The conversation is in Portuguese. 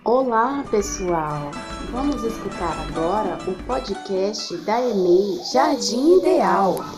Olá, pessoal! Vamos escutar agora o podcast da EMEI Jardim Ideal.